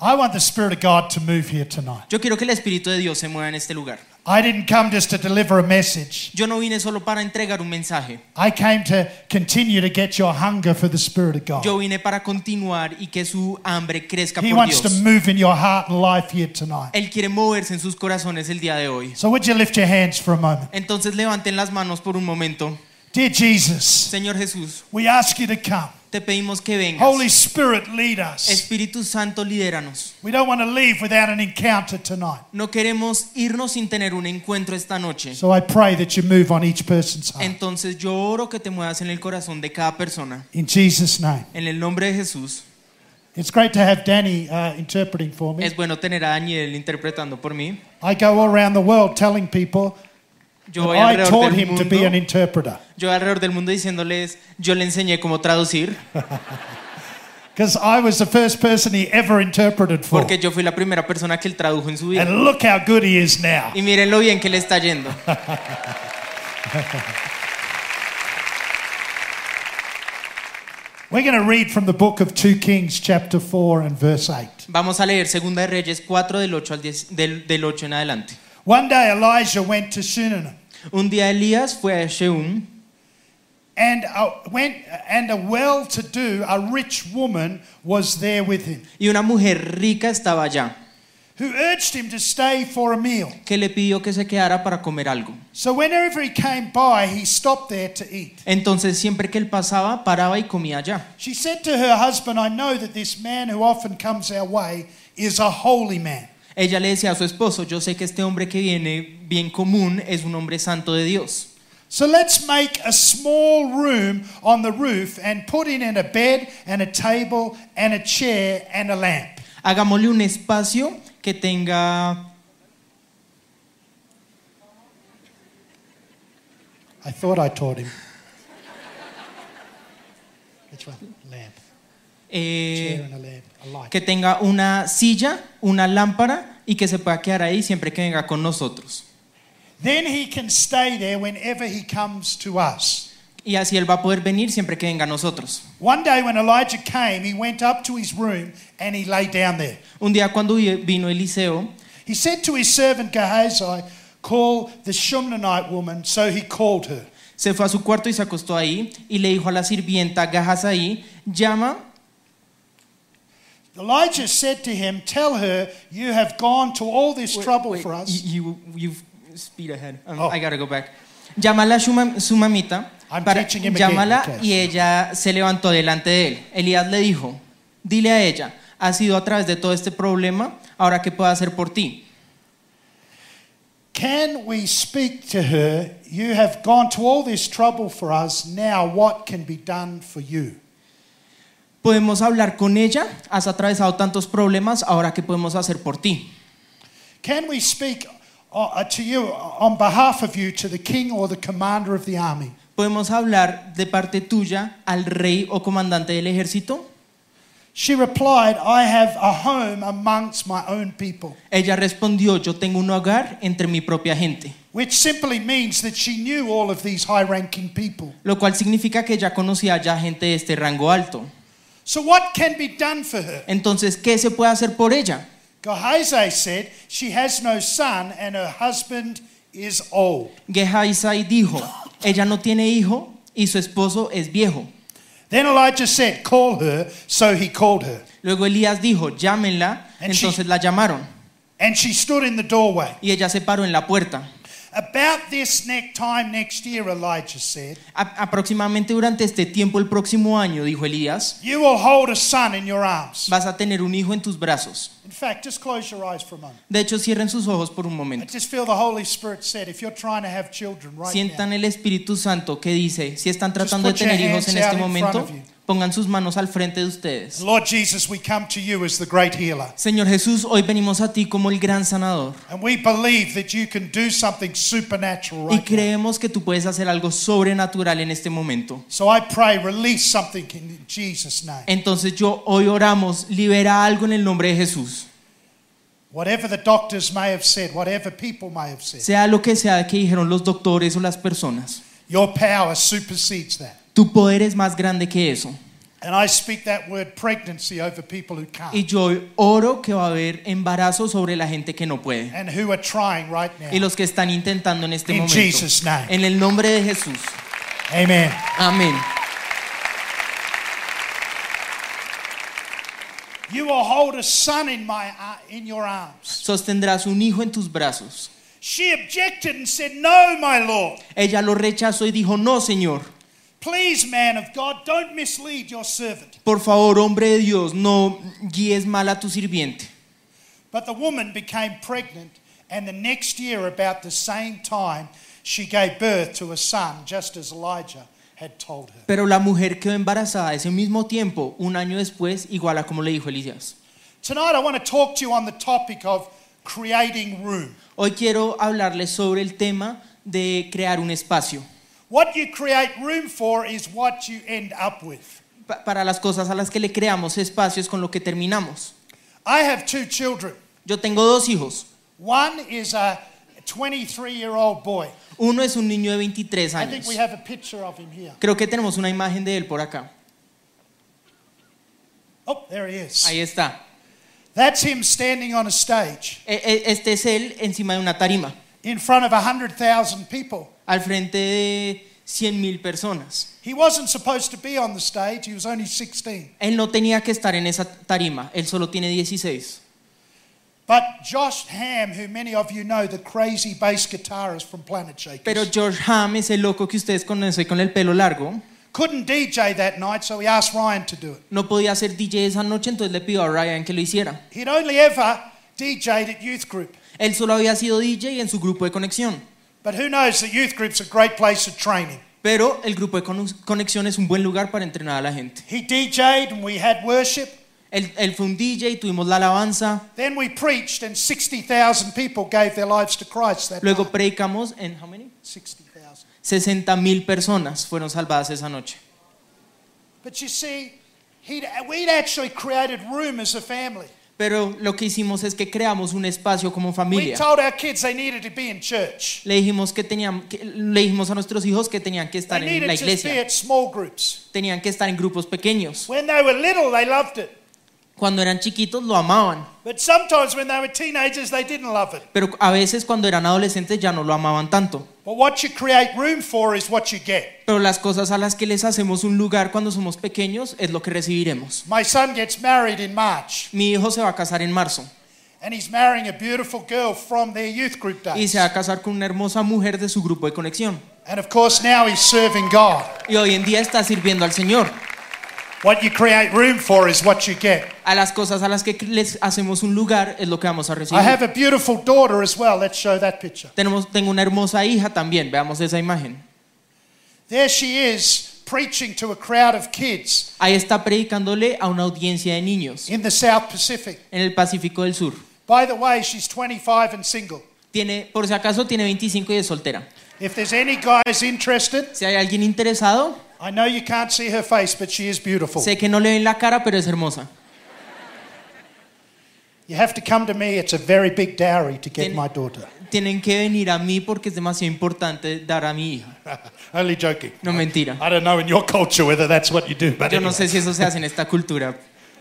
I want the Spirit of God to move here tonight. Yo quiero que el Espíritu de Dios se mueva en este lugar. I didn't come just to deliver a message. Yo no vine solo para entregar un mensaje. I came to continue to get your hunger for the Spirit of God. Yo vine para continuar y que su hambre crezca He por wants to Dios. move in your heart and life here tonight. Él quiere moverse en sus corazones el día de hoy. So would you lift your hands for a moment? Entonces levanten las manos por un momento. Dear Jesus, Señor Jesús, we ask you to come. te pedimos que vengas. Holy Spirit, lead us. Espíritu Santo, lidéranos. We don't want to leave without an encounter tonight. No queremos irnos sin tener un encuentro esta noche. So I pray that you move on each person's heart. Entonces yo oro que te muevas en el corazón de cada persona. In Jesus' name. En el nombre de Jesús. It's great to have Danny interpreting for me. Es bueno tener a Daniel interpretando por mí. I go all around the world telling people Yo voy that I alrededor taught del him to be an mundo. interpreter. Yo voy alrededor del mundo diciéndoles, yo le enseñé cómo traducir, Because I was the first person he ever interpreted for. porque yo fui la primera persona que él tradujo en su vida. And look how good he is now. Y miren lo bien que le está yendo. We're going to read from the book of 2 Kings chapter 4 and verse 8. Vamos a leer Segunda de Reyes 4 del 8 al 10, del 8 en adelante. One day Elijah went to Shunem Un día Elías fue a Sheum and a well-to-do, a rich woman was there with him, y una mujer rica estaba allá, who urged him to stay for a meal. que le pidió que se quedara para comer algo. So whenever he came by, he stopped there to eat. Entonces siempre que él pasaba, paraba y comía allá. She said to her husband, I know that this man who often comes our way is a holy man. Ella le decía a su esposo, yo sé que este hombre que viene bien común es un hombre santo de Dios. So let's make a small room on the roof and put in a bed and a table and a chair and a lamp. Hagámosle un espacio que tenga... I thought I taught him. Which one? Lamp. Chair and a lamp. A light. que tenga una silla, una lámpara y que se pueda quedar ahí siempre que venga con nosotros. Then he can stay there whenever he comes to us. Y así él va a poder venir siempre que venga a nosotros. One day when Elijah came, he went up to his room and he lay down there. Un día cuando vino Eliseo, He said to his servant Gehazi, call the Shumanite woman. So he called her. se fue a su cuarto y se acostó ahí y le dijo a la sirvienta Gehazi, llama. Elijah said to him, tell her you have gone to all this trouble Wait, for us. you speed ahead. Oh. I gotta go back. Llámala a su mamita. I'm teaching him again, Llámala okay. y ella se levantó delante de él. Elías le dijo, dile a ella, has ido a través de todo este problema, ahora qué puedo hacer por ti. Can we speak to her? You have gone to all this trouble for us. Now what can be done for you? Podemos hablar con ella, has atravesado tantos problemas, ahora qué podemos hacer por ti. Can we speak to you on behalf of you to the king or the commander of the army? ¿Podemos hablar de parte tuya al rey o comandante del ejército? She replied, I have a home amongst my own people. Ella respondió, yo tengo un hogar entre mi propia gente. Which simply means that she knew all of these high-ranking people. Lo cual significa que ella conocía ya gente de este rango alto. So what can be done for her? Entonces, ¿qué se puede hacer por ella? Gehazi said she has no son and her husband is old. Gehazi dijo, ella no tiene hijo y su esposo es viejo. Then Elijah said, call her. So he called her. Luego Elías dijo, llámenla. And Entonces la llamaron And she stood in the doorway. y ella se paró en la puerta. About this time next year, Elijah said, Aproximadamente durante este tiempo, el próximo año, dijo Elías, you will hold a son in your arms. vas a tener un hijo en tus brazos. In fact, just close your eyes for a moment. De hecho, cierren sus ojos por un I momento. just feel the Holy Spirit said, if you're trying to have children right Sientan now, el Espíritu Santo que dice, si están tratando de put your tener hijos en hands este out in momento, front of you. pongan sus manos al frente de ustedes. Lord Jesus, we come to you as the great healer. Señor Jesús, hoy venimos a ti como el gran sanador. And we believe that you can do something supernatural Y right now. creemos que tú puedes hacer algo sobrenatural en este momento. So I pray, release something in Jesus' name. Entonces hoy oramos, libera algo en el nombre de Jesús. Whatever the doctors may have said, whatever people may have said, Sea lo que sea que dijeron los doctores o las personas, your power supersedes that. tu poder es más grande que eso. And I speak that word pregnancy over people who can't Y yo oro que va a haber embarazo sobre la gente que no puede. and who are trying right now. Y los que están intentando en este In momento. Jesus' name. En el nombre de Jesús. Amen. Amén. You will hold a son in your arms. Sostendrás un hijo en tus brazos. She objected and said, "No, my Lord. Ella lo rechazó y dijo, no, Señor. Please, man of God, don't mislead your servant." Por favor, hombre de Dios, no guíes mal a tu sirviente. But the woman became pregnant, and the next year, about the same time, she gave birth to a son, just as Elijah had told her. Pero la mujer quedó embarazada ese mismo tiempo, un año después, igual a como le dijo Elías. Tonight, I want to talk to you on the topic of creating room. Hoy quiero hablarles sobre el tema de crear un espacio. What you create room for is what you end up with. Para las cosas a las que le creamos espacios con lo que terminamos. I have 2 children. Yo tengo 2 hijos. One is a 23-year-old boy. Uno es un niño de 23 I think años. we have a picture of him here. Creo que tenemos una imagen de él por acá. Oh, there he is. Ahí está. That's him standing on a stage Este es él encima de una tarima, in front of 100,000 people. al frente de 100,000 personas. He wasn't supposed to be on the stage. He was only 16. Él no tenía que estar en esa tarima, él solo tiene 16. But Josh Ham, who many of you know, the crazy bass guitarist from Planet Shakers, Pero George Ham, ese loco que ustedes conocen con el pelo largo, couldn't DJ that night, so he asked Ryan to do it. no podía ser DJ esa noche, entonces le pidió a Ryan que lo hiciera. He'd only ever DJ'd at youth group. Él solo había sido DJ en su grupo de conexión, But who knows that youth group's a great place of training. pero el grupo de conexión es un buen lugar para entrenar a la gente. He DJ'd and we had worship. Él fue un DJ, tuvimos la alabanza, Then we preached and 60,000 people gave their lives to Christ that luego night. predicamos en how many? 60,000. 60,000 personas fueron salvadas esa noche. But you see, we'd actually created room as a family. Pero lo que hicimos es que creamos un espacio como We familia. told our kids they needed to be in church. Le dijimos a nuestros hijos que tenían que They estar en needed la to be iglesia, at small groups. tenían que estar en grupos pequeños. When they were little, they loved it. Cuando eran chiquitos lo amaban, But sometimes when they were teenagers, they didn't love it. pero a veces cuando eran adolescentes ya no lo amaban tanto. But what you create room for is what you get. Pero las cosas a las que les hacemos un lugar cuando somos pequeños es lo que recibiremos. My son gets married in March, Mi hijo se va a casar en marzo and he's marrying a beautiful girl from their youth group y days. se va a casar con una hermosa mujer de su grupo de conexión. And of course, now he's serving God. Y hoy en día está sirviendo al Señor. What you create room for is what you get. A las cosas a las que les hacemos un lugar es lo que vamos a I recibir. have a beautiful daughter as well. Let's show that picture. Tengo una hermosa hija también, veamos esa imagen. There she is preaching to a crowd of kids Ahí está predicándole a una audiencia de niños in the South Pacific. en el Pacífico del Sur. By the way, she's 25 and single. Por si acaso tiene 25 y es soltera. If there's any guys interested, Si hay alguien interesado, I know you can't see her face, but she is beautiful. sé que no le ven la cara, pero es hermosa. You have to come to me. It's a very big dowry to get Tiene- my daughter. Tienen que venir a mí porque es demasiado importante dar a mi hija. Only joking. No, mentira. I don't know in your culture whether that's what you do, but Yo no anyway. sé si eso se hace en esta cultura.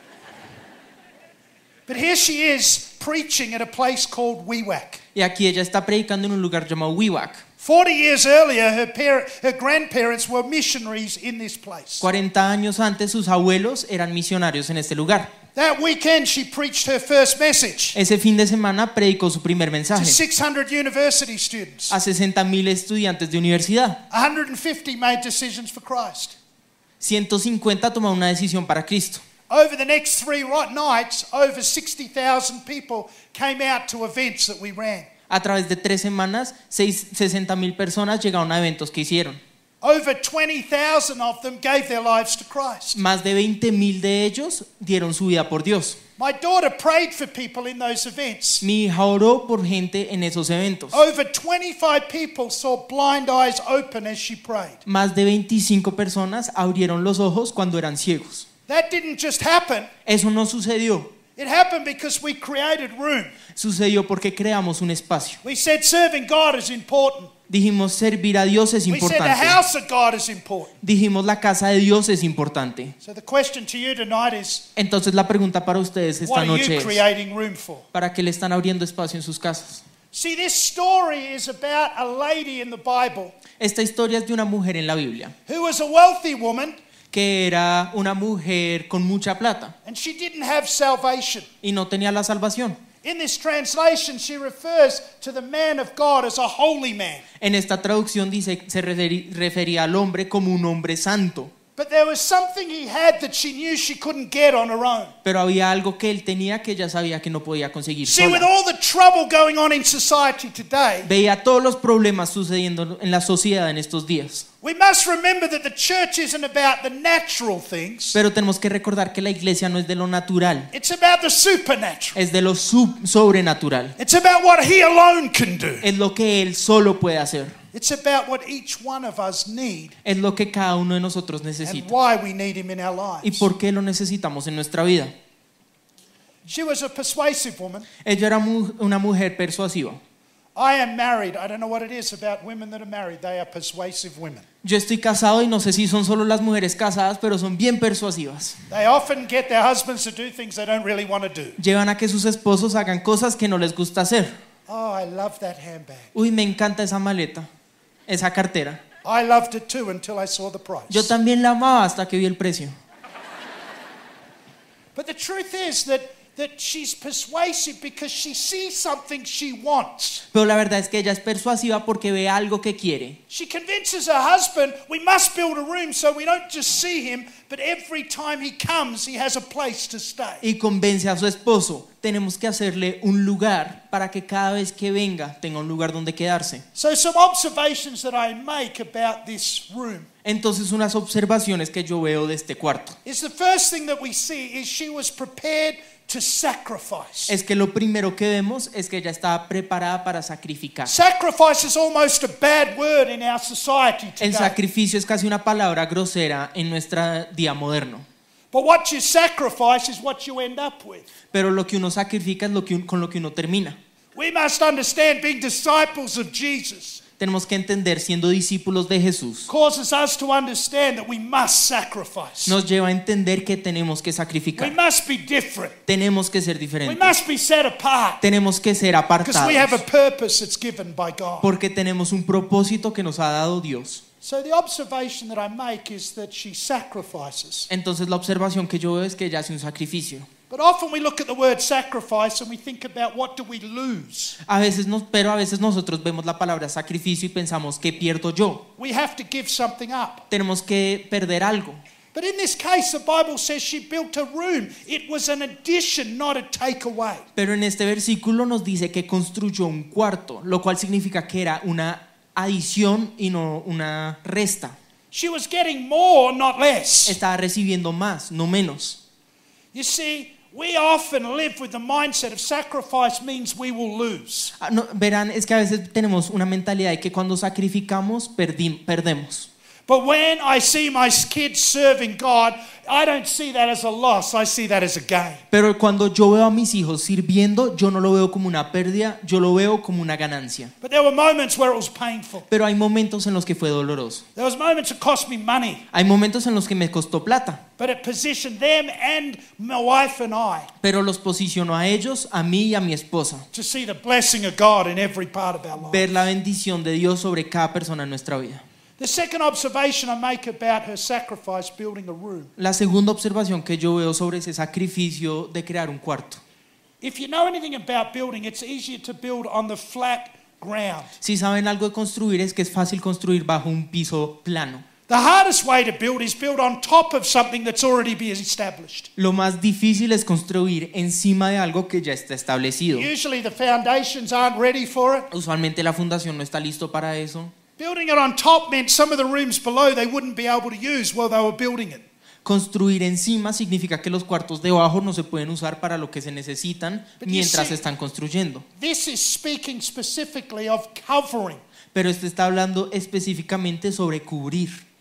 But here she is preaching at a place called Wewak. Y aquí ella está predicando en un lugar llamado Wewak. 40 years earlier, her grandparents were missionaries in this place. 40 años antes sus abuelos eran misionarios en este lugar. That weekend, she preached her first message Ese fin de semana predicó su primer to mensaje 600 university students. a 60,000 estudiantes de universidad. 150 made decisions for Christ. 150 tomaron una decisión para Cristo. Over the next 3 nights, over 60,000 people came out to events that we ran. A través de 3 semanas, 60,000 personas llegaron a eventos que hicieron. Over 20,000 of them gave their lives to Christ. Más de 20,000 de ellos dieron su vida por Dios. My daughter prayed for people in those events. Mi hija oró por gente en esos eventos. Over 25 people saw blind eyes open as she prayed. Más de 25 personas abrieron los ojos cuando eran ciegos. That didn't just happen. Eso no sucedió. It happened because we created room. Sucedió porque creamos un espacio. We said serving God is important. Dijimos servir a Dios es We said the importante. house of God is important. Dijimos la casa de Dios es importante. So the question to you tonight is, Entonces la pregunta para ustedes esta what are noche you es, creating room for? ¿para qué le están abriendo espacio en sus casas? See, this story is about a lady in the Bible Esta historia es de una mujer en la Biblia, who was a wealthy woman que era una mujer con mucha plata and she didn't have salvation. y no tenía la salvación. In this translation, she refers to the man of God as a holy man. En esta traducción dice, se refería al hombre como un hombre santo, But there was something he had that she knew she couldn't get on her own. pero había algo que él tenía que ella sabía que no podía conseguir See, with sola. all the trouble going on in society today, Veía todos los problemas sucediendo en la sociedad en estos días. we must remember that the church isn't about the natural things. Pero tenemos que recordar que la iglesia no es de lo natural, It's about the supernatural. es de lo sobrenatural. It's about what he alone can do. Es lo que él solo puede hacer. It's about what each one of us need Es lo que cada uno de nosotros and necesita. why we need him in our ¿Y lives. por qué lo necesitamos en nuestra vida? She was a persuasive woman. Ella era una mujer persuasiva. I am married. I don't know what it is about women that are married. They are persuasive women. Yo estoy casado y no sé si son solo las mujeres casadas, pero son bien persuasivas. They often get their husbands to do things they don't really want to do. Llevan a que sus esposos hagan cosas que no les gusta hacer. Oh, I love that handbag. Uy, me encanta esa maleta, esa cartera. I loved it too until I saw the price. Yo también la amaba hasta que vi el precio. But the truth is that she's persuasive because she sees something she wants. Pero la verdad es que ella es persuasiva porque ve algo que quiere. She convinces her husband, we must build a room so we don't just see him, but every time he comes, he has a place to stay. Y convence a su esposo, tenemos que hacerle un lugar para que cada vez que venga tenga un lugar donde quedarse. So some observations that I make about this room Entonces unas observaciones que yo veo de este cuarto is the first thing that we see is she was prepared to sacrifice. es que lo primero que vemos es que ella estaba preparada para sacrificar. Sacrifice is almost a bad word in our society El today. sacrificio es casi una palabra grosera en nuestro día moderno. But what you sacrifice is what you end up with. Pero lo que uno sacrifica es con lo que uno termina. We must understand being disciples of Jesus Tenemos que entender, siendo discípulos de Jesús, causes us to understand that we must sacrifice. nos lleva a entender que tenemos que We sacrificar. must be different. Tenemos que ser We diferentes. must be set apart Tenemos que ser because we have a apartados purpose that's given by God. porque tenemos un propósito que nos ha dado Dios. So the observation that I make is that she sacrifices. Entonces la observación que yo veo es que ella hace un sacrificio. But often we look at the word sacrifice and we think about what do we lose? Pero a veces nosotros vemos la palabra sacrificio y pensamos, ¿qué pierdo yo? We have to give something up. Tenemos que perder algo. But in this case, the Bible says she built a room. It was an addition, not a takeaway. Pero en este versículo nos dice que construyó un cuarto, lo cual significa que era una adición y no una resta. She was getting more, not less. Estaba recibiendo más, no menos. You see, we often live with the mindset of sacrifice means we will lose. Verán, es que a veces tenemos una mentalidad de que cuando sacrificamos perdemos. But when I see my kids serving God, I don't see that as a loss, I see that as a gain. Pero cuando yo veo a mis hijos sirviendo, yo no lo veo como una pérdida, yo lo veo como una ganancia. But there were moments where it was painful. Pero hay momentos en los que fue doloroso. There was moments that cost me money, Hay momentos en los que me costó plata, but it positioned them and my wife and I pero los posicionó a ellos, a mí y a mi esposa. to see the blessing of God in every part of our Ver life. la bendición de Dios sobre cada persona en nuestra vida. The second observation I make about her sacrifice building a room. La segunda observación que yo veo sobre ese sacrificio de crear un cuarto. If you know anything about building, it's easier to build on the flat ground. Si saben algo de construir es que es fácil construir bajo un piso plano. The hardest way to build is build on top of something that's already been established. Lo más difícil es construir encima de algo que ya está establecido. Usually the foundations aren't ready for it. Usualmente la fundación no está listo para eso. Building it on top meant some of the rooms below they wouldn't be able to use while they were building it. Construir encima significa que los cuartos de abajo no se pueden usar para lo que se necesitan mientras se están construyendo. This is speaking specifically of covering. Pero este está hablando específicamente sobre cubrir.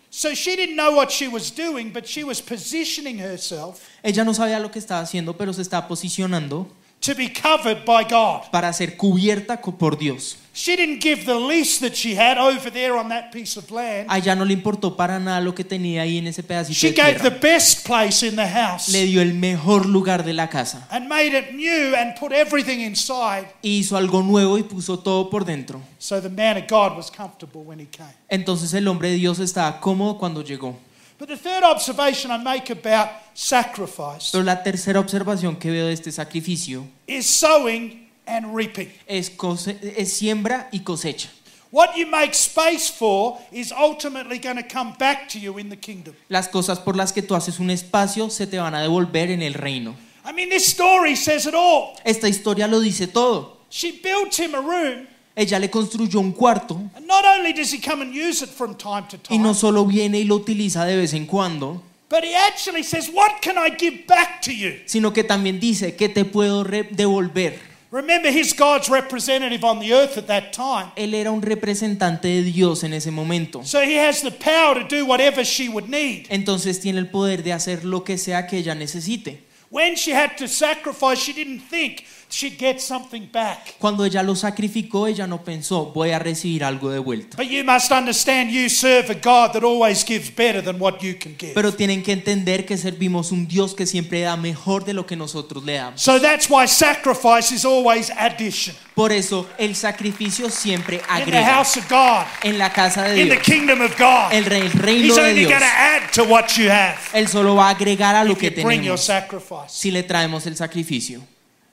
So she didn't know what she was doing, but she was positioning herself Ella no sabía lo que estaba haciendo, pero se estaba posicionando to be covered by God. para ser cubierta por Dios. She didn't give the lease that she had over there on that piece of land. A ella no le importó para nada lo que tenía ahí en ese pedacito She de gave the tierra. best place in the house Le dio el mejor lugar de la casa. and made it new and put everything inside. Hizo algo nuevo y puso todo por dentro. So the man of God was comfortable when he came. Entonces el hombre de Dios estaba cómodo cuando llegó. But the third observation I make about sacrifice Pero la tercera observación que veo de este sacrificio is sowing and reaping. es siembra y cosecha. What you make space for is ultimately going to come back to you in the kingdom. Las cosas por las que tú haces un espacio se te van a devolver en el reino. I mean, this story says it all. Esta historia lo dice todo. She built him a room, Ella le construyó un cuarto and not only does he come and use it from time to y no time, solo viene y lo utiliza de vez en cuando, but he actually says, what can I give back to you? sino que también dice que te puedo devolver. Remember, he's God's representative on the earth at that time. Él era un representante de Dios en ese momento. So he has the power to do whatever she would need. Entonces tiene el poder de hacer lo que sea que ella necesite. When she had to sacrifice, she didn't think she'd get something back. Cuando ella lo sacrificó, ella no pensó, voy a recibir algo de vuelta. But you must understand, you serve a God that always gives better than what you can give. Pero tienen que entender que servimos un Dios que siempre da mejor de lo que nosotros le damos. So that's why sacrifice is always addition. Por eso el sacrificio siempre In the agrega. house of God, En la casa de in the Dios, kingdom of God, el reino He's de only Dios, going to add to what you have Él solo va a agregar a lo if que you bring your tenemos sacrifice. si le traemos el sacrificio.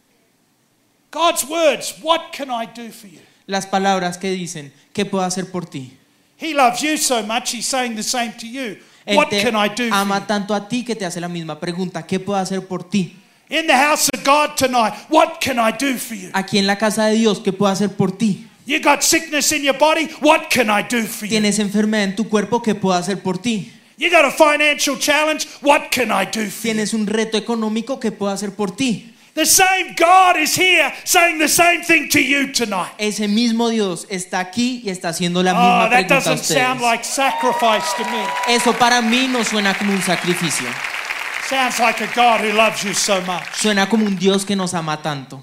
God's words, what can I do for you? Las palabras que dicen, ¿qué puedo hacer por ti? He loves you so much, he's saying the same to you. Él What te can I do for ama you? tanto a ti que te hace la misma pregunta, ¿qué puedo hacer por ti? In the house of God tonight, what can I do for you? Aquí en la casa de Dios, ¿qué puedo hacer por ti? You got sickness in your body, what can I do for you? ¿Tienes enfermedad en tu cuerpo? ¿Qué puedo hacer por ti? You got a financial challenge, what can I do for you? ¿Tienes un reto económico? ¿Qué puedo hacer por ti? The same God is here saying the same thing to you tonight. Ese mismo Dios está aquí y está haciendo la misma Oh, that pregunta a doesn't sound ustedes. like sacrifice to me. Eso para mí no suena como un sacrificio. Sounds like a God who loves you so much. Suena como un Dios que nos ama tanto.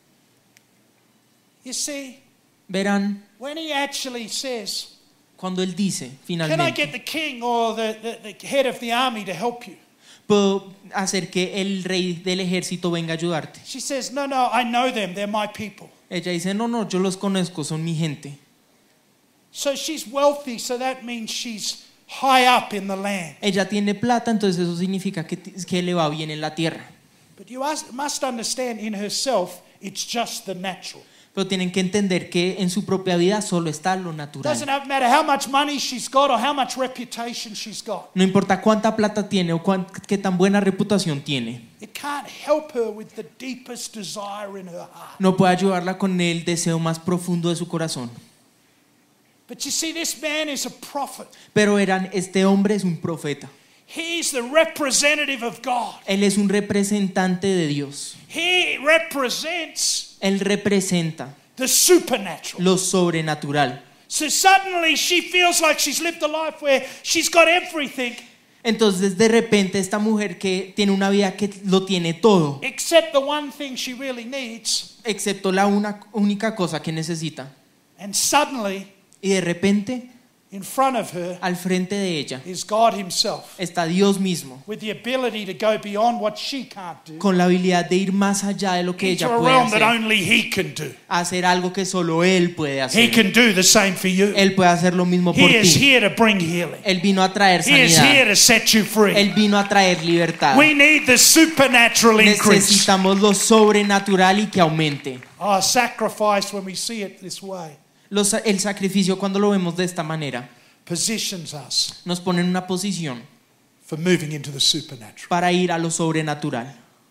You see, Verán, when he actually says, cuando Él dice, can I finalmente, get the king or the head of the army to help you? puedo hacer que el rey del ejército venga a ayudarte. She says, no, I know them, they're my people. Ella dice, no, yo los conozco, son mi gente. So she's wealthy, so that means she's high up in the land. Ella tiene plata, entonces eso significa que le va bien en la tierra. But you must understand, in herself, it's just the natural. Pero tienen que entender que en su propia vida solo está lo natural. Doesn't matter how much money she's got or how much reputation she's got. No importa cuánta plata tiene o qué tan buena reputación tiene. It can't help her with the deepest desire in her heart. No puede ayudarla con el deseo más profundo de su corazón. But you see, this man is a prophet. Pero este hombre es un profeta. He's the representative of God. Él es un representante de Dios. He represents Él representa the supernatural. lo sobrenatural. So suddenly she feels like she's lived a life where she's got everything Entonces de repente esta mujer que tiene una vida que lo tiene todo, except the one thing she really needs. excepto la única cosa que necesita. And suddenly, Y de repente, in front of her al frente de ella, is God himself, está Dios mismo, with the ability to go beyond what she can't do, con la habilidad de ir más allá de lo que into ella a puede realm that hacer, only he can do. hacer algo que solo Él puede He hacer. can do the same for you. Él puede hacer lo mismo por He is ti. here to bring healing. Él vino a traer He is here sanidad. to set you free. Él vino a traer libertad. We need the supernatural increase. Necesitamos lo sobrenatural y que aumente. Oh, sacrifice, when we see it this way, El sacrificio, cuando lo vemos de esta manera, positions us nos pone en una posición for moving into the supernatural. para ir a lo sobrenatural.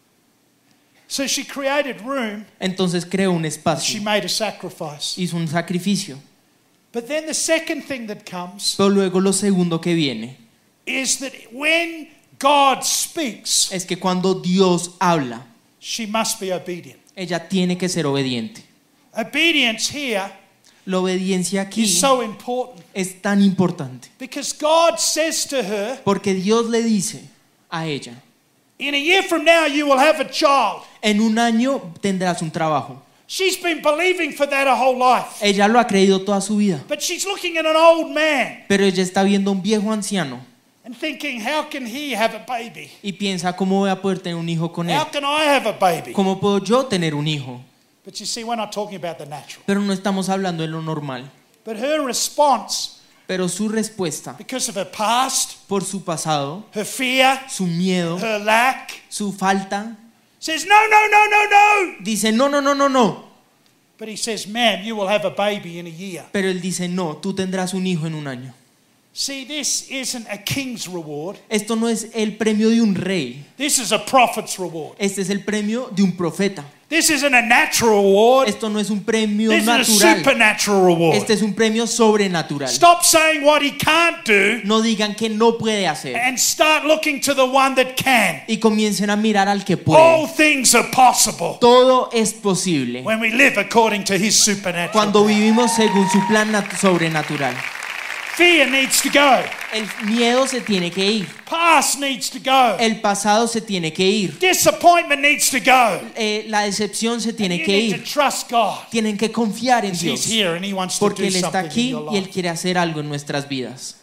So she created room, Entonces creó un she espacio, made a sacrifice. hizo un sacrificio. But then the second thing that comes Pero luego lo segundo que viene is that when God speaks, es que cuando Dios habla, she must be obedient. ella tiene que ser obediente. Obedience here La obediencia aquí is so important es tan importante because God says to her, porque Dios le dice a ella, in a year from now you will have a child. en un año tendrás un trabajo. She's been believing for that her whole life. Ella lo ha creído toda su vida, But she's looking at an old man pero ella está viendo a un viejo anciano and thinking, how can he have a baby? y piensa, ¿cómo voy a poder tener un hijo con él? How can I have a baby? ¿Cómo puedo yo tener un hijo? But you see, we're not talking about the natural. Pero no estamos hablando de lo normal. But her response, Pero su respuesta, because of her past, por su pasado, her fear, su miedo, her lack, su falta, says, no, no, no, no, no. dice, no, no, no, no, no. But he says, ma'am, you will have a baby in a year. Pero él dice, no, tú tendrás un hijo en un año. See, this isn't a king's reward. Esto no es el premio de un rey. This is a prophet's reward. Este es el premio de un profeta. This isn't a natural reward. Esto no es un premio This is a natural. supernatural reward. Este es un premio sobrenatural. Stop saying what he can't do No digan que no puede hacer. and start looking to the one that can. Y comiencen a mirar al que All puede. things are possible Todo es posible when we live according to his supernatural. cuando vivimos según su plan sobrenatural. Fear needs to go. El miedo se tiene que ir. Past needs to go. El pasado se tiene que ir. Disappointment needs to go. La decepción se tiene You que need to ir. trust God. Tienen que confiar en He's Dios. here and he wants to Porque do Él está something in aquí your y Él life. quiere hacer algo en nuestras vidas.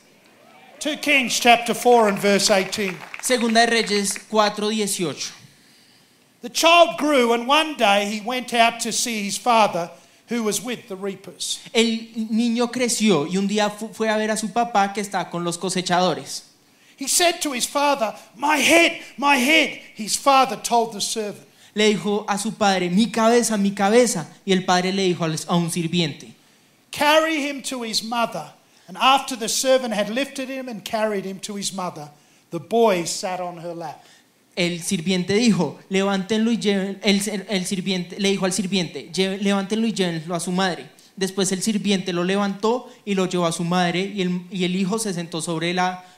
2 Kings chapter 4 and verse 18. Segunda de Reyes 4:18. The child grew and one day he went out to see his father who was with the reapers. El niño creció y un día fue a ver a su papá que está con los cosechadores. He said to his father, my head, my head. His father told the servant. Le dijo a su padre, mi cabeza, mi cabeza. Y el padre le dijo a un sirviente, Carry him to his mother. And after the servant had lifted him and carried him to his mother, the boy sat on her lap. el sirviente dijo, levántenlo y lleven, el sirviente le dijo al sirviente, levántenlo y llévenlo a su madre. Después el sirviente lo levantó y lo llevó a su madre y el hijo se sentó sobre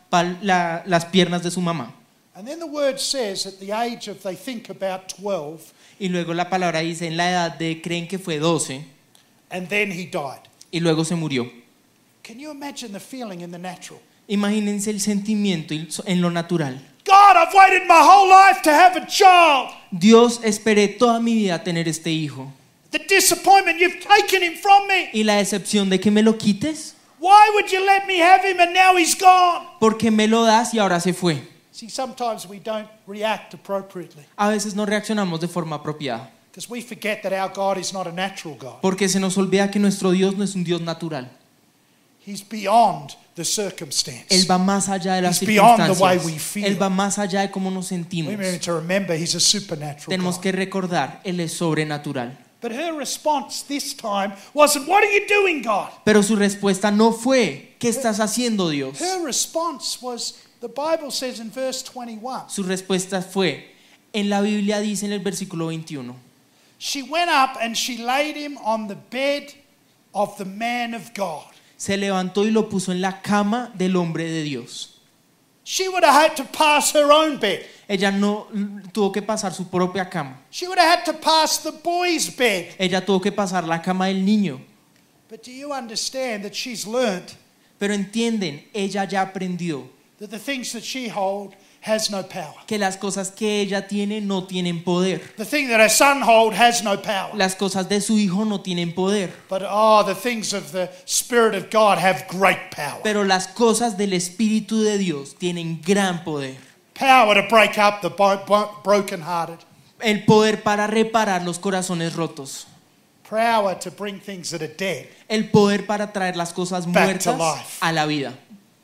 las piernas de su mamá. And then the word says at the age of, they think about 12, Y luego la palabra dice, en la edad de, creen que fue 12, and then he died. y luego se murió. Can you imagine the feeling in the natural? Imagínense el sentimiento en lo natural. God, I've waited my whole life to have a child. Dios, esperé toda mi vida tener este hijo. The disappointment, you've taken him from me. Y la decepción de que me lo quites, Why would you let me have him and now he's gone? porque me lo das y ahora se fue. See, sometimes we don't react appropriately A veces no reaccionamos de forma apropiada, because we forget that our God is not a natural God. porque se nos olvida que nuestro Dios no es un Dios natural. He's beyond the circumstance. Él va más allá de las He's beyond the way circunstancias. we feel. Él va más allá de cómo nos sentimos. We need to remember he's a supernatural Tenemos God. que recordar, Él es sobrenatural. But her response this time wasn't, what are you doing, God? Pero su respuesta no fue, ¿qué estás haciendo, Dios? Her response was, the Bible says in verse 21, Su respuesta fue, en la Biblia dice en el versículo 21, she went up and she laid him on the bed of the man of God. se levantó y lo puso en la cama del hombre de Dios. She would have had to pass her own bed. Ella no tuvo que pasar su propia cama. She would have had to pass the boy's bed. Ella tuvo que pasar la cama del niño. But do you understand that she's learned Pero entienden, ella ya aprendió that the things that she holds has no power? que las cosas que ella tiene no tienen poder. The thing that her son holds has no power. Las cosas de su hijo no tienen poder. But the things of the Spirit of God have great power. Pero las cosas del Espíritu de Dios tienen gran poder. Power to break up the brokenhearted. El poder para reparar los corazones rotos. Power to bring things that are dead. El poder para traer las cosas Back to muertas life. a la vida.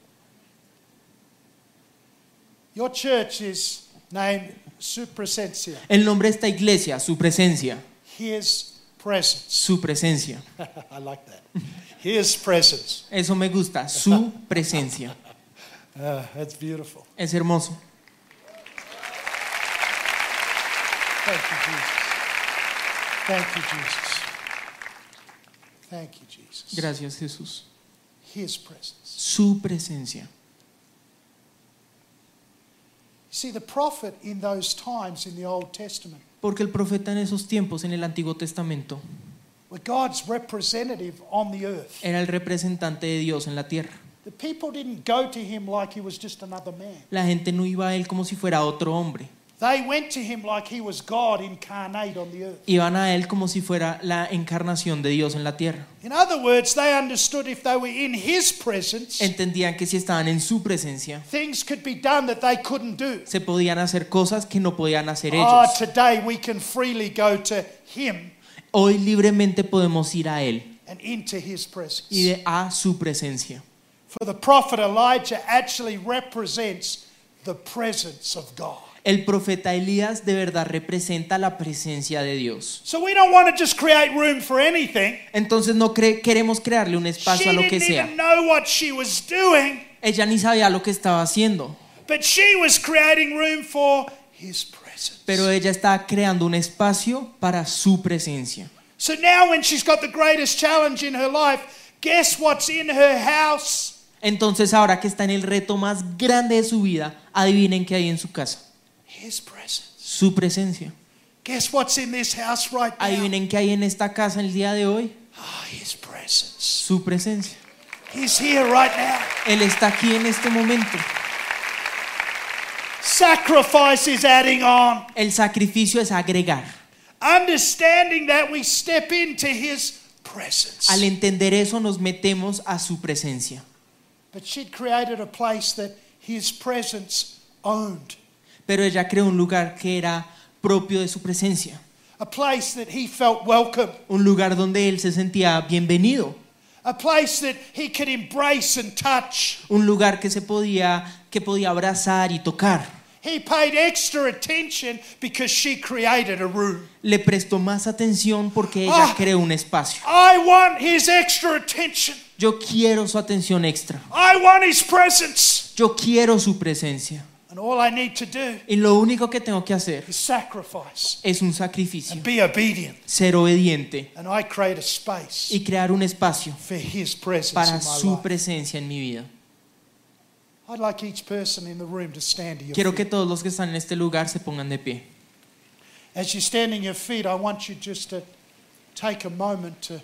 Your church is named Su Presencia. El nombre de esta iglesia, su presencia, His presence. su presencia. I like that. His presence. Eso me gusta, su presencia. That's beautiful. Es hermoso. Thank you, Jesus. Thank you, Jesus. Thank you, Jesus. Gracias, Jesús. His presence. Su presencia. See, the prophet in those times in the Old Testament, Porque el profeta en esos tiempos, en el Antiguo Testamento, were God's representative on the earth. Era el representante de Dios en la tierra. The people didn't go to him like he was just another man. La gente no iba a él como si fuera otro hombre. They went to him like he was God incarnate on the earth. Iban a él como si fuera la encarnación de Dios en la tierra. In other words, they understood if they were in his presence, Entendían que si estaban en su presencia, things could be done that they couldn't do. se podían hacer cosas que no podían hacer Oh, ellos. today we can freely go to him Hoy libremente podemos ir a él and into his presence. y a su presencia. For the prophet Elijah actually represents the presence of God. El profeta Elías de verdad representa la presencia de Dios. So we don't want to just create room for anything. Entonces no queremos crearle un espacio She a lo que didn't sea. even know what she was doing, Ella ni sabía lo que estaba haciendo, but she was creating room for his presence. pero ella estaba creando un espacio para su presencia. So now when she's got the greatest challenge in her life, guess what's in her house? Entonces ahora que está en el reto más grande de su vida, adivinen qué hay en su casa. His presence. Su presencia. Guess what's in this house right now? Adivinen qué hay en esta casa el día de hoy. Ah, his presence. Su presencia. He's here right now. Él está aquí en este momento. Sacrifice is adding on. El sacrificio es agregar. Understanding that we step into his presence. Al entender eso nos metemos a su presencia. But she'd created a place that his presence owned. Pero ella creó un lugar que era propio de su presencia. A place that he felt welcome. Un lugar donde él se sentía bienvenido. A place that he could embrace and touch. Un lugar que podía abrazar y tocar. He paid extra attention because she created a room. Le prestó más atención porque ella creó un espacio. I want his extra attention. Yo quiero su atención extra. I want his presence. Yo quiero su presencia. And all I need to do Y lo único que tengo que hacer is sacrifice es un sacrificio. and be obedient. Ser obediente And I create a space y crear un espacio for his presence para in my su life. presencia en mi vida. I'd like each person in the room to stand to your Quiero que feet. todos los que están en este lugar se pongan de pie. As you stand in your feet, I want you just to take a moment to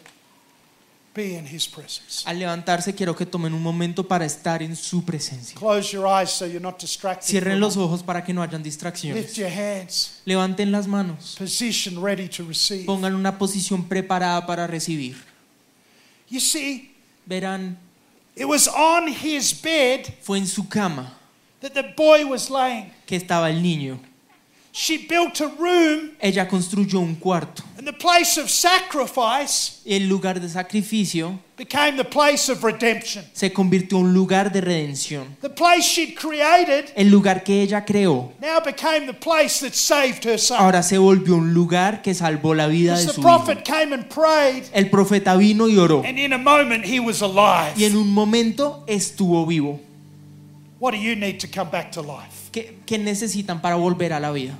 be in his presence. Al levantarse quiero que tomen un momento para estar en su presencia. Close your eyes so you're not distracted. for a Cierren los moment. ojos para que no hayan Lift distracciones. your hands. Levanten las manos. Position ready to receive. Pongan una posición preparada para recibir. You see, Verán, it was on his bed fue en su cama that the boy was laying. que estaba el niño. She built a room, Ella construyó un cuarto. and the place of sacrifice El lugar de sacrificio became the place of redemption. se convirtió en un lugar de redención. The place she'd created El lugar que ella creó now became the place that saved her son. ahora se volvió un lugar que salvó la vida As de the su hijo. prophet came and prayed, El profeta vino y oró and in a moment he was alive. y en un momento estuvo vivo. What do you need to come back to life? ¿Qué necesitan para volver a la vida?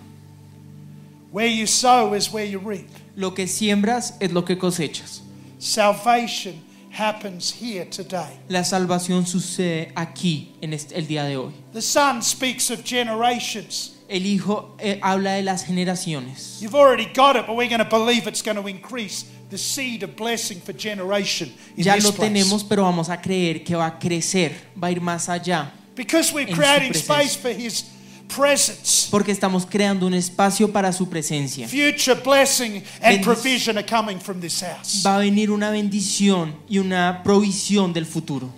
Where you sow is where you reap. Lo que siembras es lo que cosechas. Salvation happens here today. La salvación sucede aquí, en el día de hoy. The Son speaks of generations. El Hijo habla de las generaciones. You've already got it, but we're going to believe it's going to increase the seed of blessing for generation in Ya this lo place. tenemos, pero vamos a creer que va a crecer, va a ir más allá. Because we're en su creating presencia. space for his presence. Porque estamos creando un espacio para su presencia. Future blessing and Bendic- provision are coming from this house. Va a venir una bendición y una provisión del futuro.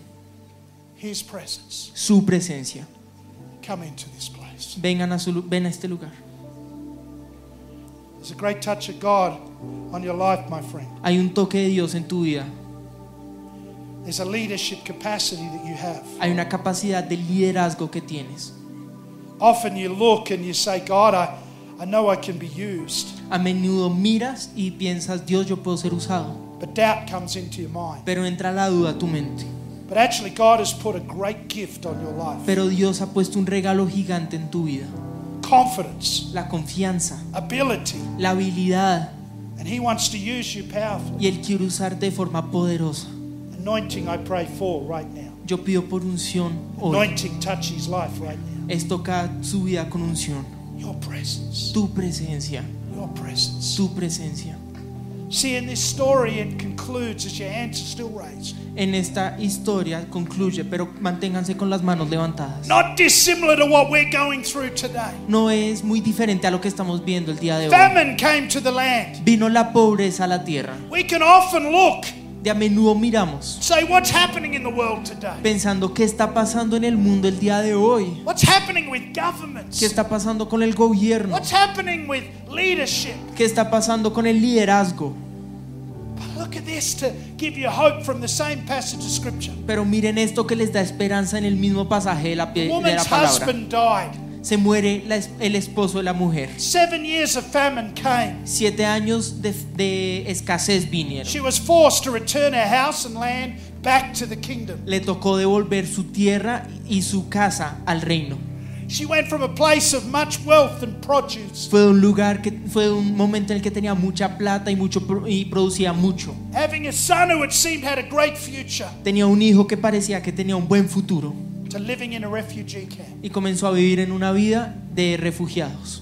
His presence. Su presencia. Come into this place. Ven a este lugar. There's a great touch of God on your life, my friend. Hay un toque de Dios en tu vida. There's a leadership capacity that you have. Hay una capacidad de liderazgo que tienes. Often you look and you say, God, I know I can be used. A menudo miras y piensas, Dios, yo puedo ser usado. But doubt comes into your mind. Pero entra la duda a tu mente. But actually, God has put a great gift on your life. Pero Dios ha puesto un regalo gigante en tu vida. Confidence, La confianza, ability. la habilidad. And He wants to use you powerfully. Y Él quiere usarte de forma poderosa. Anointing, I pray for right now. Yo pido por unción hoy. Anointing, touch His life right now. Es tocar su vida con unción. Your presence. Tu presencia. Your presence. Tu presencia. See, in this story it concludes as your hands are still raised. En esta historia concluye, pero manténganse con las manos levantadas. Not dissimilar to what we're going through today. No es muy diferente a lo que estamos viendo el día de hoy. Famine came to the land. Vino la pobreza a la tierra. We can often look, De a menudo miramos say, what's happening in the world today? pensando qué está pasando en el mundo el día de hoy. What's happening with ¿Qué governments? está pasando con el gobierno? What's happening with leadership? ¿Qué está pasando con el liderazgo? But look at this to give you hope from the same passage of scripture. Pero miren esto que les da esperanza en el mismo pasaje de la The de la woman's palabra. husband died. Se muere el esposo de la mujer. 7 years of famine came. 7 años de escasez vinieron. She was forced to return her house and land back to the kingdom. Le tocó devolver su tierra y su casa al reino. She went from a place of much wealth and produce, Fue un momento en el que tenía mucha plata y producía mucho. having a son who it seemed had a great future, Tenía un hijo que parecía que tenía un buen futuro to living in a refugee camp. y comenzó a vivir en una vida de refugiados.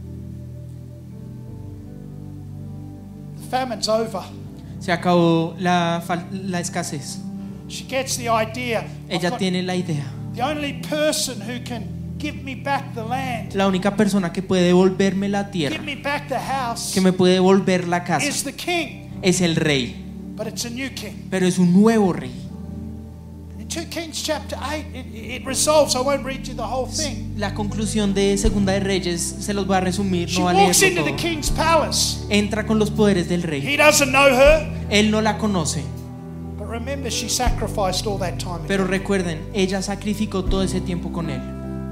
The famine's over. Se acabó la escasez. She gets the idea. I've Ella got tiene la idea. the only person who can give me back the land, La única persona que puede devolverme la tierra, give me back the house, que me puede devolver la casa, is the king. es el rey. But it's a new king. Pero es un nuevo rey. In 2 Kings chapter 8, it resolves. I won't read you the whole thing. La conclusión de Segunda de Reyes se los voy a resumir, She no va a walks leerlo into the todo. king's palace. Entra con los poderes del rey. He doesn't know her, Él no la conoce, but remember, she sacrificed all that time. pero recuerden, ella sacrificó todo ese tiempo con él.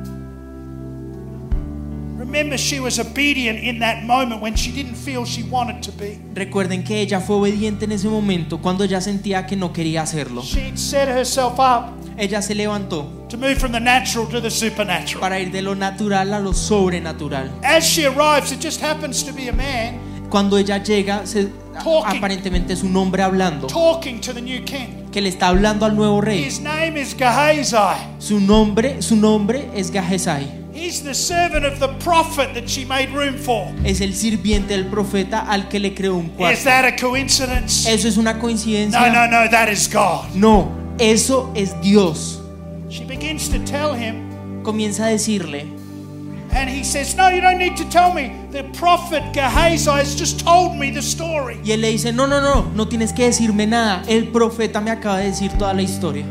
Remember, she was obedient in that moment when she didn't feel she wanted to be. Recuerden que ella fue obediente en ese momento cuando ella sentía que no quería hacerlo. She'd set herself up Ella se levantó to move from the natural to the supernatural. para ir de lo natural a lo sobrenatural. As she arrives, it just happens to be a man Cuando ella llega, Talking. aparentemente es un hombre hablando, talking to the new king. que le está hablando al nuevo rey. His name is Gehazi. Su nombre es Gahesai. He's the servant of the prophet that she made room for. Es el sirviente del profeta al que le creó un Is cuarto. that a coincidence? ¿Eso es una No, coincidencia? no, that is God. No, eso es Dios. She begins to tell him, Comienza a decirle, and he says, no, you don't need to tell me. The prophet Gehazi has just told me the story. y él le dice, no tienes que decirme nada. El profeta me acaba de decir toda la historia.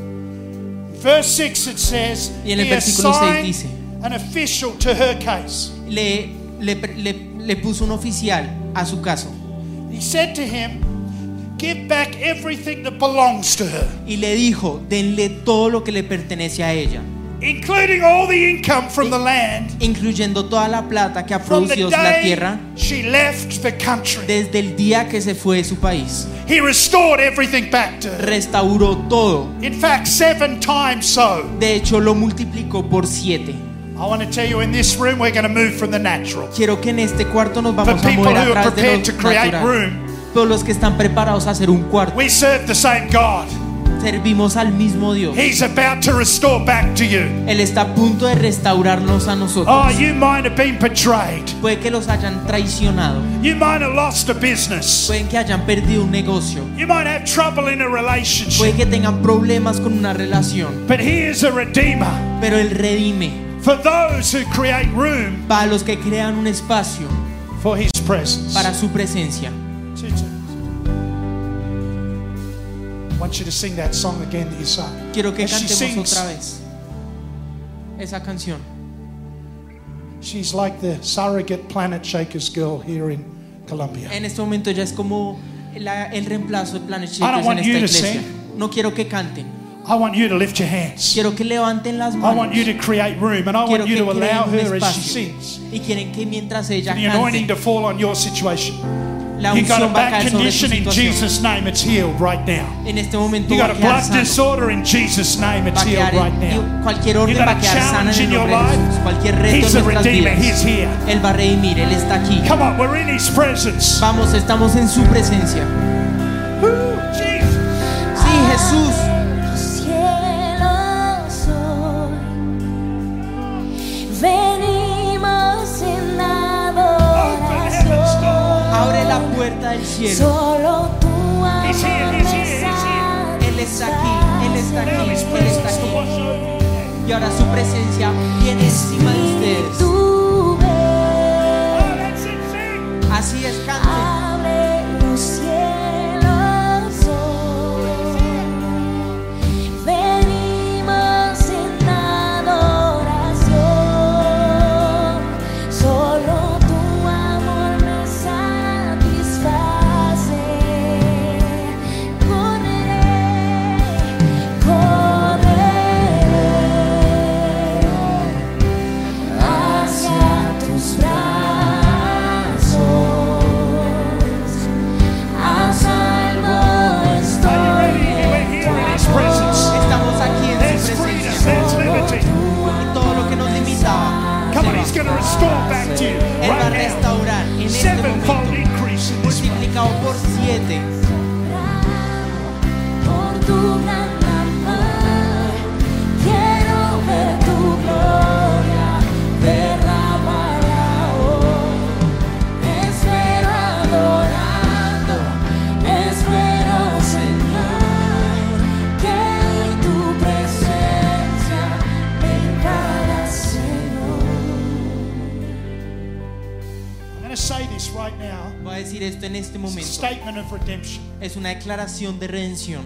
Verse 6 it says, Y en el he versículo 6 assigned dice, an official to her case. le puso un oficial a su caso He said to him, give back everything that belongs to her, y le dijo, denle todo lo que le pertenece a ella, including all the income from the land incluyendo toda la plata que ha from the producido la day tierra she left the country. desde el día que se fue de su país. He restored everything back to her. Restauró todo. In fact, 7 times so. De hecho, lo multiplicó por 7. I want to tell you, in this room, we're going to move from the natural. Quiero que en este cuarto nos For vamos a people mover a who are través de prepared lo to create natural. room, Todos los que están preparados a hacer un cuarto. we serve the same God. Servimos al mismo Dios. He's about to restore back to you. Él está a punto de restaurarnos a nosotros. Oh, you might have been betrayed. Puede que los hayan traicionado. You might have lost a business. Pueden que hayan perdido un negocio. You might have trouble in a Puede relationship. que tengan problemas con una relación. But he is a redeemer. Pero Él redime For those who create room para los que crean un espacio for his presence. para su presencia. I want you to sing that song again that you sang. Quiero que As she cantemos sings, otra vez esa canción. she's like the surrogate Planet Shakers girl here in Colombia. En este momento ella es como el reemplazo de Planet I don't Shakers en want you esta to iglesia. sing. No quiero que canten. I want you to lift your hands. Quiero que levanten las I manos. want you to create room, and I Quiero want you que to allow creen un her as she espacio. sings Y quieren que mientras ella the anointing cante, to fall on your situation. la You got a unción va a back caer sobre su condition in situación. Jesus' name, it's healed right now. En este momento You va got a a quedar blood sano. disorder in Jesus' name, it's Va a healed quedar right now. cualquier You orden got va a a quedar sana en challenge el in your nombre de life. Jesús. Cualquier reto He's en a nuestras redeemer, vidas, he's here. Él va a redimir, Él está aquí. Come on, we're in his presence. Vamos, estamos en su presencia. Woo, Jesus. Sí, Jesús. Cielos hoy venimos en Open heaven's adoración. door. Abre la puerta del cielo. Solo tu amor He's here, he's here, he's here. Él está aquí, Él está Now aquí, His Él está presence to wash aquí. over you. Y ahora su presencia viene encima de ustedes. Tu ven, Oh, that's it, sing. Así es, canten. abre los cielos hoy. Venimos en adoración. Solo tu amor me satisface. Correré hacia tus brazos. A salvo estoy. Are you ready? We're here in His presence. Estamos aquí en There's su freedom, presencia. there's liberty. Y todo lo que nos limitaba, Come on, He's going to restore back to you Él va a right now. restaurar en este Sevenfold momento, increase in this place. multiplicado por 7. Por tu gran amor, quiero ver tu gloria derramada hoy. Espero adorando, espero Señor, que en tu presencia venga Señor. I'm going to say this right now. Voy a decir esto en este It's a momento. statement of redemption. Es una declaración de redención.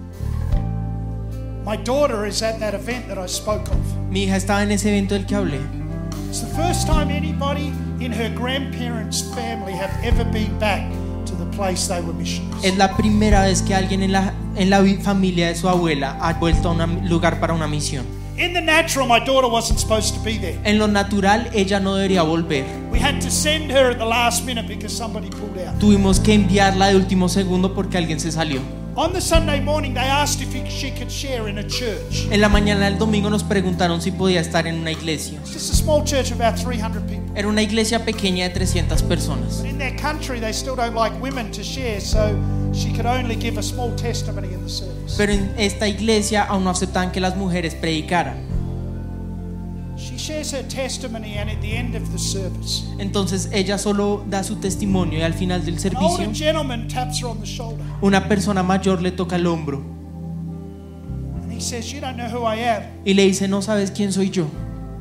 My daughter is at that event that I spoke of. Mi hija estaba en ese evento del que hablé. It's the first time anybody in her grandparents' family have ever been back to the place they were missionaries. Es la primera vez que alguien en la familia de su abuela ha vuelto a un lugar para una misión. In the natural, my daughter wasn't supposed to be there. En lo natural, ella no debería volver. We had to send her at the last minute because somebody pulled out. Tuvimos que enviarla de último segundo porque alguien se salió. On the Sunday morning, they asked if she could share in a church. En la mañana del domingo nos preguntaron si podía estar en una iglesia. It's just a small church of about 300 people. Era una iglesia pequeña de 300 personas. But in their country, they still don't like women to share, so she could only give a small testimony in the service. Pero en esta iglesia aún no aceptaban que las mujeres predicaran. She shares her testimony, and at the end of the service, Entonces ella solo da su testimonio y al final del an servicio older gentleman taps her on the shoulder, una persona mayor le toca el hombro and he says, "You don't know who I am, y le dice: no sabes quién soy yo,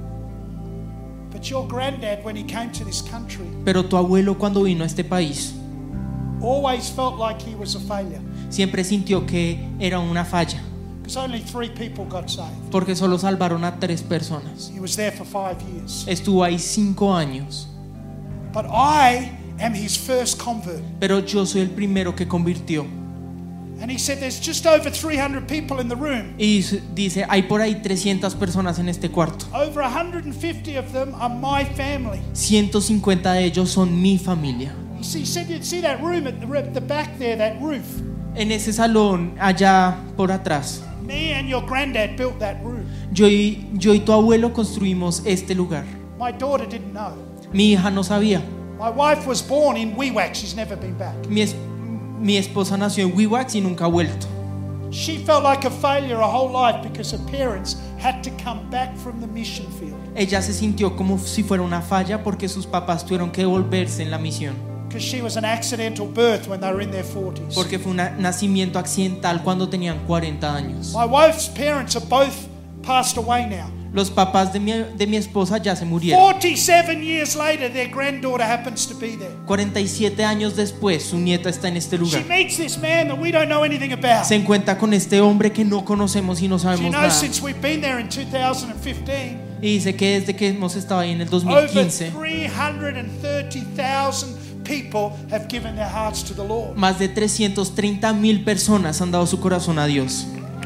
but your granddad, when he came to this country, pero tu abuelo cuando vino a este país always felt like he was a failure siempre sintió que era una falla because only 3 people got saved. porque solo salvaron a 3 personas. He was there for 5 years, Estuvo ahí 5 años, but I am his first convert." pero yo soy el primero que convirtió. And he said, "There's just over 300 people in the room. Y dice: hay por ahí 300 personas en este cuarto. Over 150 of them are my family." 150 de ellos son mi familia. He said, "You'd see that room at the back there, that roof. En ese salón allá por atrás, Me and your granddad built that room." yo y tu abuelo construimos este lugar. My daughter didn't know. Mi hija no sabía. My wife was born in Wewak. She's never been back. Mi esposa nació en Wewak y nunca ha vuelto. She felt like a failure her whole life because her parents had to come back from the mission field Ella se sintió como si fuera una falla porque sus papás tuvieron que devolverse en la misión. because she was an accidental birth when they were in their 40s. Porque fue un nacimiento accidental cuando tenían 40 años. My wife's parents are both passed away now. Los papás de mi esposa ya se murieron. 47 years later, their granddaughter happens to be there. 47 años después, su nieta está en este She lugar. meets this man that we don't know anything about. Se encuentra con este hombre que no conocemos y no She sabemos knows nada. since we've been there in 2015, Y dice que desde que hemos estado ahí en el over 2015, 330,000 people have given their hearts to the Lord. más de 330,000 personas han dado su corazón a Dios.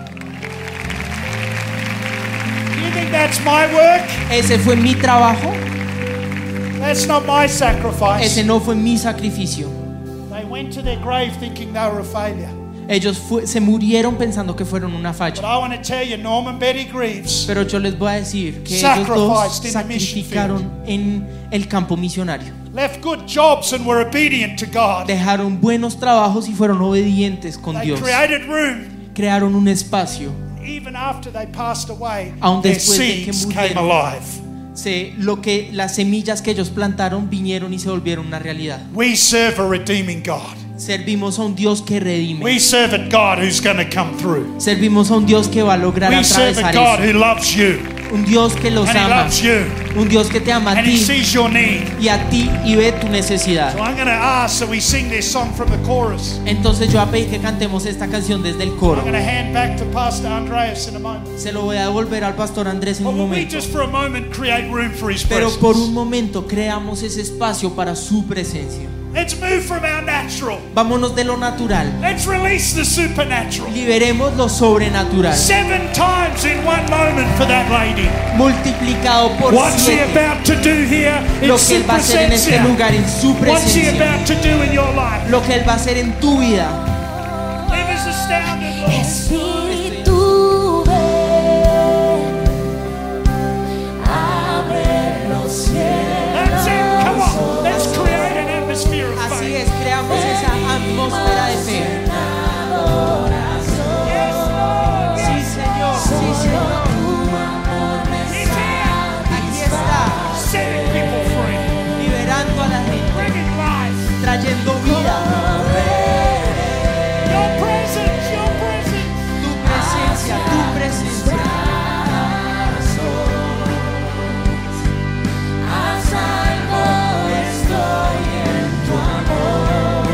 Do you think that's my work? Ese fue mi trabajo, That's not my sacrifice. ese no fue mi sacrificio. They went to their grave thinking they were a failure. Ellos se murieron pensando que fueron una But falla. I want to tell you, Norman Betty Greaves Pero yo les voy a decir que ellos dos Sacrificed in the mission sacrificaron en el campo misionario. left good jobs and were obedient to God. Dejaron buenos trabajos y fueron obedientes con They Dios. created room. Crearon un espacio. Even after they passed away, Aun their después de que seeds came murieron. alive. lo que las semillas que ellos plantaron vinieron y se volvieron una realidad. We serve a redeeming God. Servimos a un Dios que redime. We serve a God who's going to come through. Servimos a un Dios que va a lograr We serve a atravesar God eso. who loves you. Un Dios que los And He ama. loves you. Un Dios que te ama a And He ti sees your need. y a ti y ve tu necesidad. So I'm going to ask that we sing this song from the chorus. Entonces yo voy a pedir que cantemos esta canción desde el I'm coro. going to hand back to Pastor Andreas in a moment. Se lo voy a devolver al pastor Andrés en But un will we momento. just for a moment create room for His Pero presence? por un momento creamos ese espacio para su presencia. Let's move from our natural. Vámonos de lo natural. Let's release the supernatural. Liberemos lo sobrenatural. 7 times in one moment for that lady. Multiplicado por What's He 7. about to do here in Lo que Él va a hacer en este presencia? lugar, en su What's He presencia. about to do in your life? Lo que Él va a hacer en tu vida. Leave us astounded, Lord. Espíritu, ven, abre los cielos. That's it. Come on. Let's create an atmosphere of Así faith. es, creamos esa atmósfera de fe. Sí, Señor, sí, Señor. He's here. Aquí está, Setting people free. liberando a la gente, Bringing life. trayendo vida. Your presence. Your presence. Tu presencia, tu presencia. A salvo estoy en tu amor.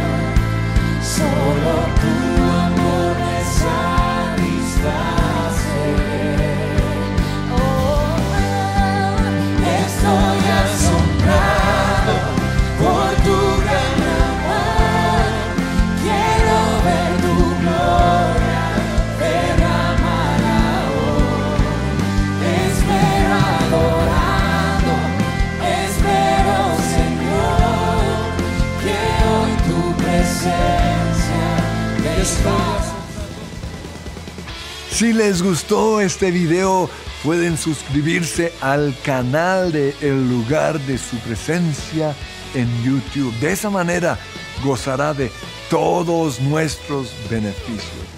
Solo tu amor me satisface. Oh, estoy asombrado por tu gran amor. Quiero ver tu gloria derramada hoy. Te espero adorando, espero, Señor, que hoy tu presencia desfase. Si les gustó este video, pueden suscribirse al canal de El Lugar de Su Presencia en YouTube. De esa manera gozará de todos nuestros beneficios.